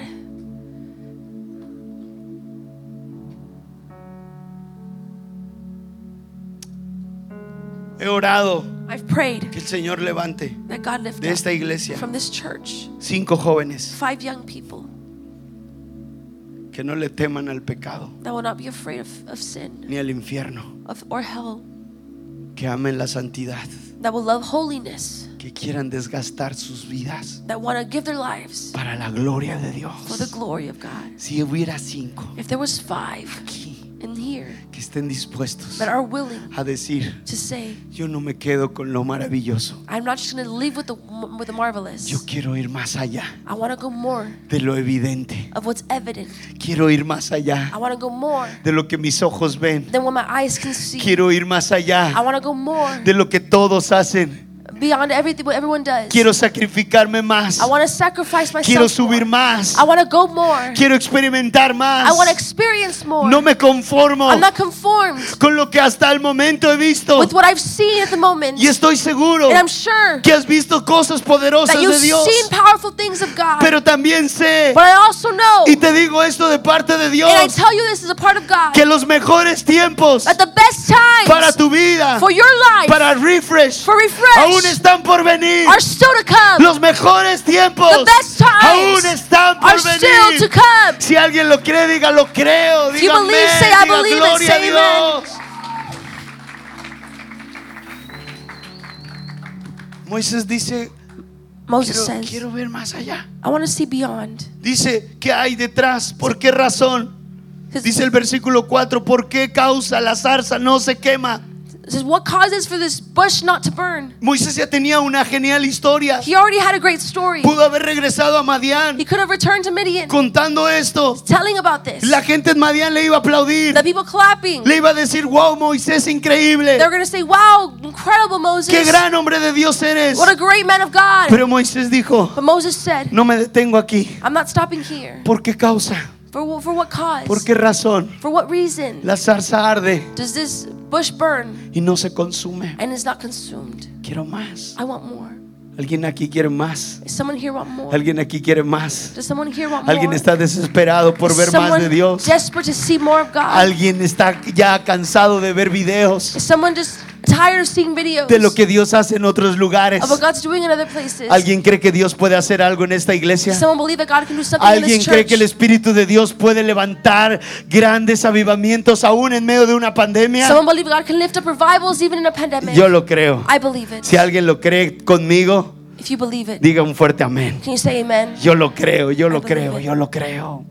He orado
I've prayed
que el Señor levante
that God lift
de esta
up
iglesia
from this church
5 jóvenes
5 young people
que no le teman al pecado
that will not be afraid of sin
ni al infierno,
or hell,
que amen la santidad,
that will love holiness,
que quieran desgastar sus vidas
that want to give their lives
para la gloria de
for the
Dios.
glory of God.
Si hubiera 5
If there was 5
aquí
in here
que estén dispuestos
that are willing
a decir,
to say,
yo no me quedo con lo maravilloso,
I'm not just going to live with the marvelous.
yo quiero ir más allá
I want to go more
de lo evidente,
of what's evident.
quiero ir más allá
I want to go more
de lo que mis ojos ven,
than what my eyes can see.
quiero ir más
I
allá
want to go more
de lo que todos hacen,
beyond everything what everyone does.
quiero sacrificarme más,
I want to sacrifice
quiero
myself
subir
more.
más,
I want to go more.
quiero experimentar más,
I want to experience more.
no me conformo
I'm not conformed
con lo que hasta el momento he visto,
with what I've seen at the moment.
y estoy seguro
And I'm sure
que has visto cosas poderosas
that you've
de Dios,
seen powerful things of God.
pero también sé,
But I also know,
y te digo esto de parte de Dios,
and I tell you this is a part of God,
que los mejores tiempos
that the best times
para tu vida,
for your life,
para refresh,
for refresh,
aún están por venir.
are still to come.
Los mejores tiempos
The best times
aún están por
are still
venir.
to come.
Si alguien lo cree, diga lo creo,
If you
diga
believe,
amén,
say, I
diga
believe it,
gloria
say
a Dios. Moisés dice,
Moses says,
quiero ver más allá.
I want to see beyond.
Dice, ¿qué hay detrás? ¿Por qué razón?
'Cause
Dice el versículo 4, ¿por qué causa la zarza no se quema?
it says, what causes for this bush not to burn?
Moisés ya tenía una genial historia.
He already had a great story.
Pudo haber regresado a Madián
He could have returned to Midian,
contando esto.
telling about this.
La gente en Madián le iba a aplaudir.
The people clapping.
Le iba a decir, wow, Moisés, increíble.
They're going to say, wow, incredible Moses.
Qué gran hombre de Dios eres.
What a great man of God.
Pero Moisés dijo,
But Moses said,
no me detengo aquí.
I'm not stopping here.
¿Por qué causa?
For what cause?
¿Por qué razón?
For what reason
La zarza arde
does this bush burn
y no se consume.
and is not consumed?
Quiero más.
I want more.
¿Alguien aquí quiere más?
Does someone here want more?
¿Alguien aquí quiere más?
Does someone here want more?
¿Alguien está desesperado por
Is
ver más de
someone
Dios?
desperate to see more of God?
¿Alguien está ya cansado de ver videos
Is someone just tired of seeing videos
de lo que Dios hace en otros lugares?
of what God's doing in other places?
¿Alguien cree que Dios puede hacer algo en esta iglesia?
Does someone believe that God can do something in
¿Alguien
this
cree
church?
que el Espíritu de Dios puede levantar grandes avivamientos aún en medio de una pandemia?
Someone believe God can lift up revivals even in a pandemic?
Yo lo creo.
I believe it.
Si alguien lo cree conmigo,
If you believe it,
diga un fuerte amén.
can you say amen?
Yo lo creo, yo lo
I believe
creo,
it.
yo lo creo.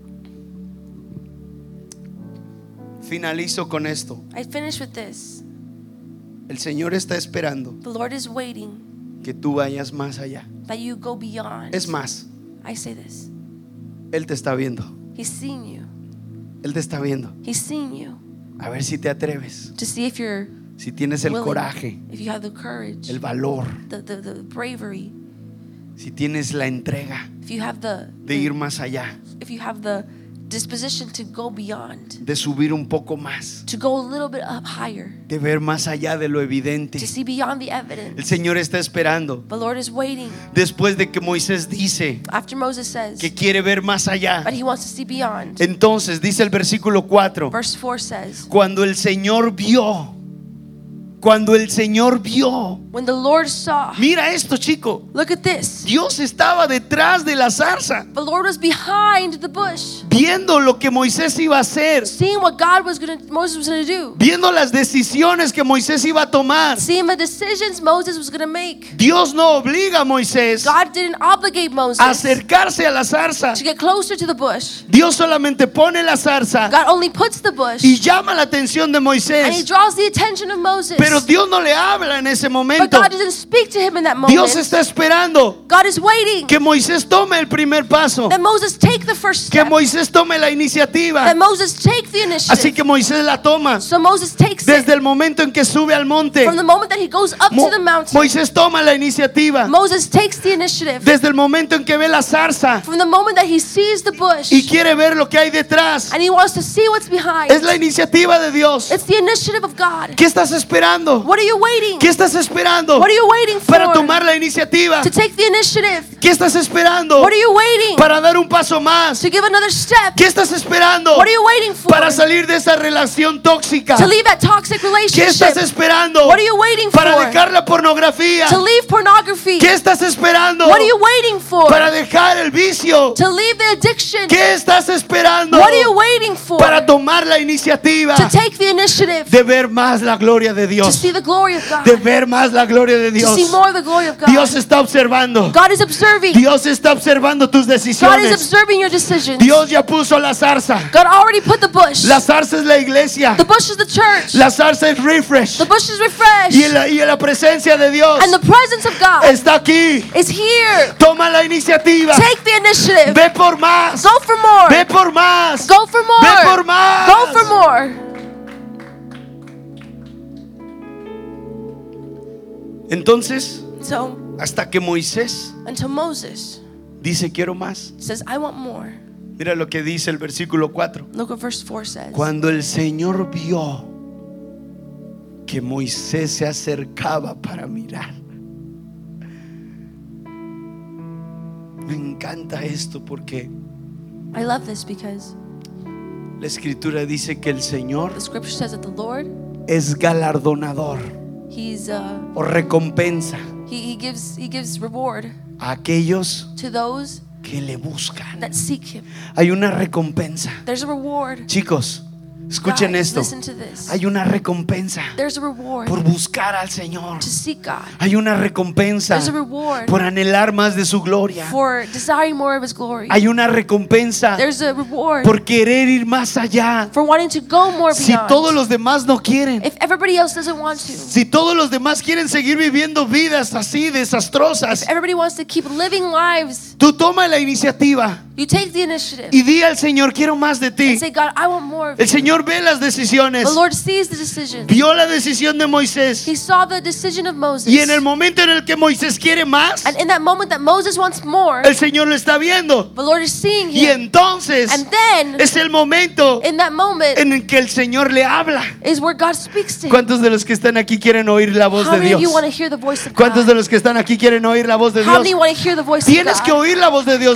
Finalizo con esto.
I finish with this.
El Señor está esperando
The Lord is waiting
que tú vayas más allá.
that you go beyond.
Es más,
I say this.
Él te está viendo.
He's seen you.
Él te está viendo.
He's seen you
A ver si te atreves.
to see if you're
Si tienes el
willing,
coraje,
if you have the courage,
el valor,
the bravery,
si tienes la entrega
if you have
de ir más allá,
if you have the disposition to go beyond,
de subir un poco más,
to go a little bit up higher,
de ver más allá de lo evidente.
to see beyond the
El
evidence.
Señor está esperando.
The Lord is waiting.
Después de que Moisés dice
After Moses says
que quiere ver más allá,
but he wants to see beyond,
entonces dice el versículo 4,
verse 4 says,
cuando el Señor vio,
when the Lord saw,
mira esto, chico,
look at this,
Dios estaba detrás de la zarza,
the Lord was behind the bush,
viendo lo que Moisés iba a hacer,
seeing what Moses was going to do,
viendo las decisiones que Moisés iba a tomar.
seeing the decisions Moses was going to make.
Dios no obliga a Moisés
God didn't obligate Moses
a acercarse a la zarza.
to get closer to the bush.
Dios solamente pone la zarza
God only puts the bush
y llama la atención de
and he
Moisés.
draws the attention of Moses.
Pero Dios no le habla en ese
But
momento. momento.
God doesn't speak to him in that moment.
Dios está esperando
God is waiting
que Moisés tome el primer paso,
that Moses take the first
que
step,
Moisés tome la iniciativa.
that Moses take the initiative.
Así que Moisés la toma
So Moses takes it
desde el momento en que sube al monte.
from the moment that he goes up to the mountain.
Moisés toma la iniciativa
Moses takes the initiative
desde el momento en que ve la zarza
from the moment that he sees the bush
y quiere ver lo que hay detrás.
and he wants to see what's behind.
Es la iniciativa de Dios.
It's the initiative of God.
¿Qué estás esperando?
What are you waiting?
¿Qué estás esperando
What are you waiting for?
para tomar la iniciativa?
To take the initiative.
¿Qué estás esperando
What are you waiting?
para dar un paso más?
To give another step.
¿Qué estás esperando
What are you waiting for?
para salir de esa relación tóxica?
To leave that toxic
¿Qué estás
relationship.
esperando
What are you waiting
para
for?
dejar la pornografía?
To leave pornography.
¿Qué estás esperando
What are you waiting for?
para dejar el vicio?
To leave the addiction.
¿Qué estás esperando
What are you waiting for?
para tomar la iniciativa
To take the initiative.
de ver más la gloria de
To
Dios?
see the glory of God.
De ver más la gloria de
To
Dios.
see more of the glory of God.
Dios está observando.
God is observing.
Dios está observando tus
God is
decisiones.
observing your decisions.
Dios ya puso la zarza.
God already put the bush.
La zarza es la iglesia.
The bush is the church.
La zarza es refresh.
The bush is refreshed.
Y la presencia de Dios
And the presence of God
está aquí.
is here.
Toma la iniciativa.
Take the initiative.
Ve por más.
Go for more.
Ve por más.
Go for more.
Ve por más.
Go for more.
Entonces,
So,
hasta que Moisés
until Moses
dice quiero más.
says, I want more.
Mira lo que dice el versículo 4.
Look what verse 4 says.
Cuando el Señor vio que Moisés se acercaba para mirar. Me encanta esto porque
I love this because
la escritura dice que el Señor
the scripture says that the Lord,
es galardonador
He's
o recompensa
he gives reward
a aquellos
to those
que le buscan.
that seek Him.
Hay una recompensa.
There's a reward.
Chicos, escuchen
Guys,
esto.
listen to this.
Hay una recompensa
There's a reward
por buscar al Señor.
to seek God.
Hay una recompensa
There's a reward
por anhelar más de su gloria.
for desiring more of His glory.
Hay una recompensa
There's a reward
por querer ir más allá.
for wanting to go more
Si
beyond.
todos los demás no quieren,
If everybody else doesn't want to,
si todos los demás quieren seguir viviendo vidas así desastrosas,
everybody wants to keep living lives,
tú toma la iniciativa
you take the initiative
y di al Señor, quiero más de ti.
and say, God, I want more of
El
you.
Señor ve las decisiones.
The Lord sees the decision.
Vio la decisión de Moisés.
He saw the decision of Moses.
Y en el momento en el que Moisés quiere más,
And in that moment that Moses wants more,
el Señor lo está viendo.
the Lord is seeing
Y
him.
entonces
And then,
es el momento
in that moment,
en el que el Señor le habla.
is where God speaks to him.
¿Cuántos de los que están aquí quieren oír la voz
How
de
many of
Dios?
you want to hear the voice of
¿Cuántos
God?
de los que están aquí quieren oír la voz de
How
Dios?
many want to hear the voice of
Tienes que
God?
oír la voz de Dios.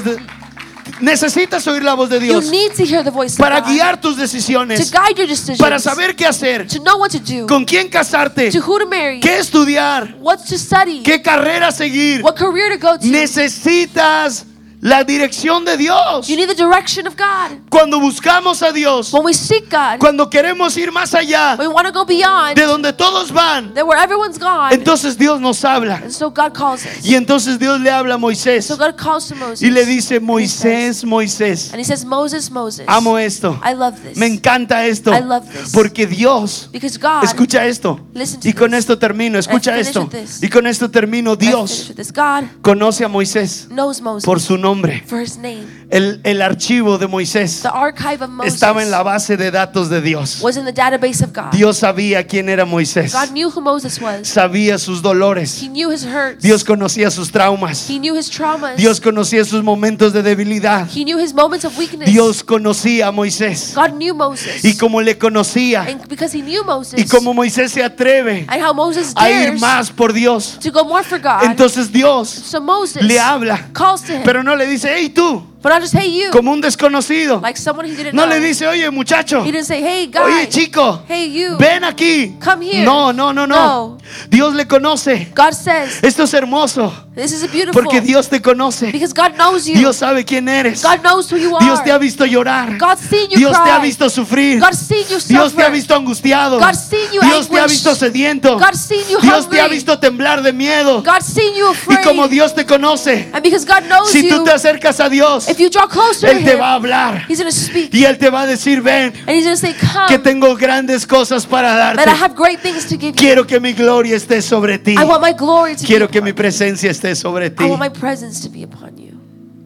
Necesitas oír la voz de
You
Dios
need to hear the voice of
para
God
guiar tus
to
decisiones,
guide your decisions,
para saber qué hacer,
to know what to do,
con quién casarte,
to who to marry,
qué estudiar,
what to study,
qué carrera seguir.
what career to go to.
Necesitas la dirección de Dios.
You need the direction of God.
Cuando buscamos a Dios,
When we seek God,
cuando queremos ir más allá
we want to go beyond
de donde todos van,
that where everyone's gone.
entonces Dios nos habla.
And so God calls us.
Y entonces Dios le habla a Moisés
So God calls to Moses.
y le dice,
And he
Moisés,
says-
Moisés,
And he says, Moses, Moses.
amo esto.
I love this.
Me encanta esto.
I love this.
Porque Dios,
Because God,
escucha esto.
listen to
Y con
this.
esto termino, escucha
finish
esto.
with this.
Y con esto termino.
I finish
Dios
with this. God
conoce a Moisés
knows Moses
por su nombre.
for his name.
El archivo de Moisés
The archive of Moses
estaba en la base de datos de Dios.
was in the database of God.
Dios sabía quién era Moisés.
God knew who Moses was.
Sabía sus dolores.
He knew his hurts.
Dios conocía sus traumas.
He knew his traumas.
Dios conocía sus momentos de debilidad.
He knew his moments of weakness.
Dios conocía a Moisés.
God knew Moses.
Y como le conocía,
And because he knew Moses.
y como Moisés se atreve
And how Moses
a ir
dares
más por Dios,
to go more for God.
entonces Dios
So Moses
le habla,
calls to him.
pero no le dice, hey tú,
But not just, hey, you.
como un desconocido.
Like someone he didn't
No
know.
le dice, oye muchacho,
He didn't say, hey, guy.
oye chico,
Hey, you.
ven aquí.
Come here.
No, no, no, no.
No.
Dios le conoce.
God says,
Esto es hermoso,
this is a beautiful.
porque Dios te conoce.
Because God knows you.
Dios sabe quién eres.
God knows who you are.
Dios te ha visto llorar.
God's seen you
Dios te ha
cry.
visto sufrir.
God's seen you
Dios te ha
suffer.
visto angustiado.
God's seen you
Dios te ha
anguished.
visto sediento.
God's seen you
Dios te ha
hungry.
visto temblar de miedo.
God's seen seen you
Y
afraid.
como Dios te conoce,
And because God knows
si tú
you,
te acercas a Dios,
if you draw closer to
Él te
Him,
va a hablar.
He's going to speak.
Y Él te va a decir, ven,
And He's going to say,
que
come,
tengo grandes cosas para
that I
darte.
have great things to give you.
Quiero que mi gloria esté sobre ti.
I want my glory to
Quiero
be
que mi
upon you.
presencia esté sobre ti.
I want my presence to be upon you.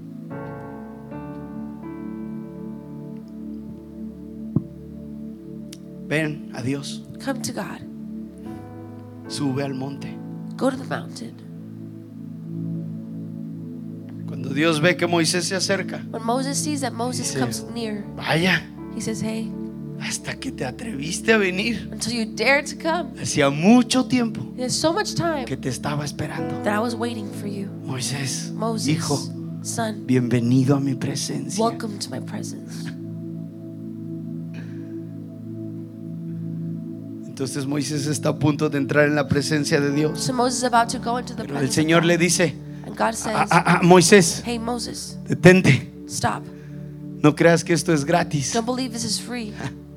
Ven a Dios.
Come to God.
Sube al monte.
Go to the mountain.
Cuando Dios ve que Moisés se acerca,
When Moses sees that Moses
Dice,
comes near,
vaya,
he says, hey,
hasta que te atreviste a venir.
until you dare to come.
Hacía mucho tiempo
There's so much time
que te estaba esperando.
that I was waiting for you.
Moisés,
Moses,
hijo,
son,
bienvenido a mi presencia.
welcome to my presence.
Entonces Moisés está a punto de entrar en la presencia de Dios.
So Moses is about to go into the
Pero el
presence
Señor
of
le
God.
dice,
And God says,
Moisés,
hey Moses,
detente.
stop.
No creas que esto es gratis.
Don't believe this is free.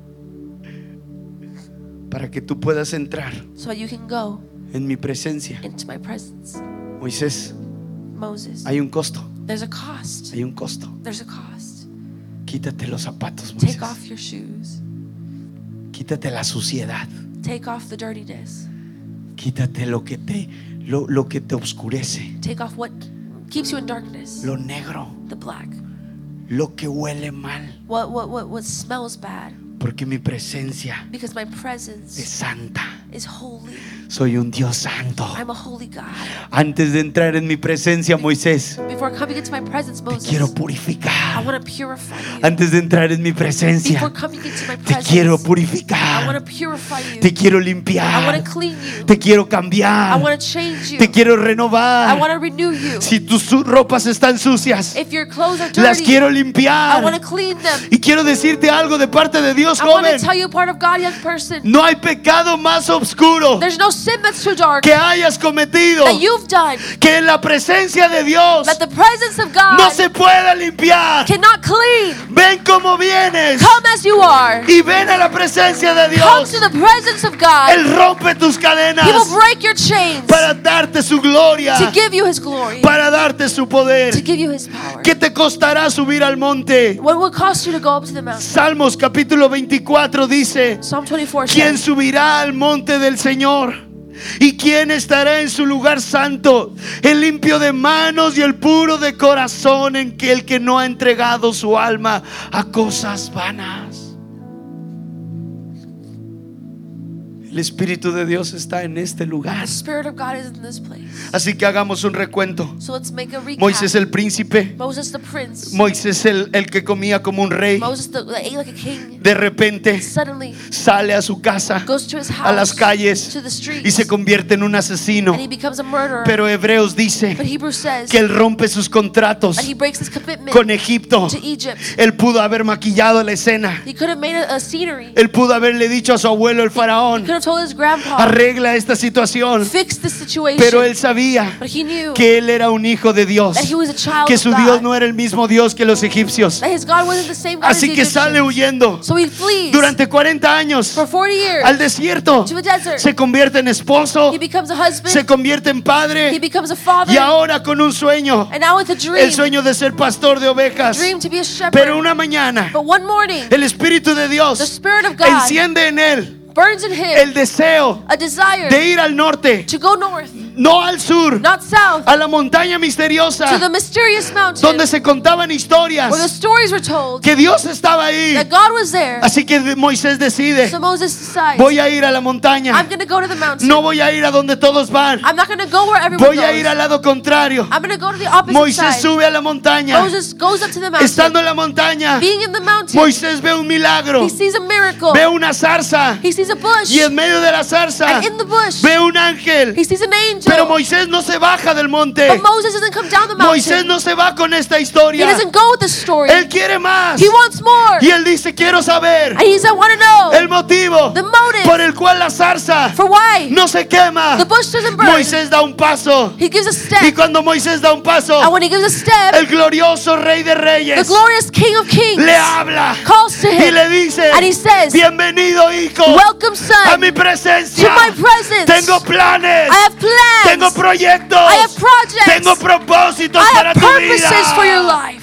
Para que tú puedas entrar
So that you can go
en mi presencia.
into my presence.
Moisés,
Moses,
hay un costo.
there's a cost.
Hay un costo.
There's a cost.
Quítate los zapatos, Moisés.
Take off your shoes.
Quítate la suciedad.
Take off the dirtiness.
Quítate lo que te oscurece,
Take off what keeps you in darkness.
lo negro,
The black.
lo que huele mal,
What smells bad.
porque mi presencia
Because my
es
presence
santa.
is holy.
Soy un Dios santo.
I'm a holy God.
Antes de entrar en mi presencia, Moisés,
Before coming into my presence,
te
Moses,
quiero
I
purificar.
want to purify you.
Antes de entrar en mi presencia,
Before coming into my
te
presence,
quiero
I want to
purificar.
purify you.
Te quiero
I want
limpiar.
to clean you.
Te quiero
I
cambiar.
want to change you.
Te quiero
I
renovar.
want to renew you.
Si tus ropas están sucias,
If your clothes are
las
dirty,
quiero
I want
limpiar.
to clean them.
Y quiero decirte algo de parte de Dios,
I want to
joven.
tell you part of God, young person.
No hay pecado más oscuro
There's no sin that's too dark
que hayas cometido
that you've done
que en la presencia de Dios
that the presence of God
no se pueda limpiar.
cannot clean.
Ven como vienes
Come as you are.
y ven a la presencia de
Come
Dios.
to the presence of God.
Él rompe tus
He
cadenas
will break your chains
para darte su gloria,
to give you His glory,
para darte su poder.
to give you His power.
¿Qué te costará subir al monte?
What will it cost you to go up to the mountain?
Salmos capítulo 24 dice:
Psalm 24
¿quién
says,
subirá al monte del Señor? ¿Y quién estará en su lugar santo? El limpio de manos y el puro de corazón, en que el que no ha entregado su alma a cosas vanas. El Espíritu de Dios está en este lugar.
the Spirit of God is in this place.
Así que hagamos un recuento.
So let's make a recap.
Moisés el príncipe,
Moses the prince.
Moisés el que comía como un rey,
Moses the ate like a king.
de repente
Suddenly
sale a su casa,
goes to his house,
a las calles,
to the streets,
y se convierte en un asesino.
and he becomes a murderer.
Pero Hebreos dice
But Hebrews says
que él rompe sus contratos
that he breaks his commitment
con Egipto.
to Egypt.
Él pudo haber maquillado la escena.
He could have made a scenery.
Él pudo haberle dicho a su abuelo el
He
faraón:
could have told his grandpa,
arregla esta situación.
fix this situation.
Pero él sabía
But he knew
que él era un hijo de Dios,
that he was a child
que
of
su
God.
Dios no era el mismo Dios que los egipcios.
That his God wasn't the same God as
Así
the
que sale
Egyptians.
huyendo
So he flees
durante 40 años
for 40 years
al desierto.
to a desert.
Se convierte en esposo,
He becomes a husband.
se convierte en
He
padre,
becomes a father.
y ahora con un sueño,
And now with a dream.
el sueño de ser pastor de ovejas.
Dream to be a shepherd.
Pero una mañana
But one morning,
el Espíritu de
the
Dios
Spirit of God
enciende en él
burns in him
el deseo
a desire
de ir al norte,
to go north,
no al sur,
not south,
a la montaña
to the
misteriosa
mysterious mountain
donde se contaban historias
where the stories were told
que Dios estaba ahí.
that God was there.
Así que Moisés decide:
So Moses decides,
voy a ir a la montaña,
I'm going to go to the mountain.
no voy a ir a donde todos van,
I'm not going to go where everyone
voy a ir
goes.
al lado contrario.
I'm going to go to the opposite
Moisés
side.
sube a la montaña.
Moses goes up to the mountain.
Estando en la montaña,
Being in the mountain,
Moisés ve un milagro,
he sees a miracle.
ve una zarza,
He sees a bush.
y en medio de la zarza
And in the bush,
ve un ángel.
he sees an angel.
Pero Moisés no se baja del monte.
But Moses doesn't come down the mountain.
Moisés no se va con esta
He
historia.
doesn't go with the story.
Él quiere más.
He wants more.
Y él dice: quiero saber
And he said, I want to know
el motivo
the motive
por el cual la zarza
for why
no se quema.
the bush doesn't burn.
Moisés da un paso.
He gives a
Y
step.
cuando Moisés da un paso,
And when he gives a step,
el glorioso Rey de
the
Reyes
glorious King of Kings
le habla
calls to
y
him
le dice:
And he says,
bienvenido hijo
welcome
a
son
mi
to
presencia.
my presence.
Tengo planes,
I have plans.
tengo proyectos,
I have projects.
tengo propósitos
I
para
have
tu
purposes for your
vida.
life.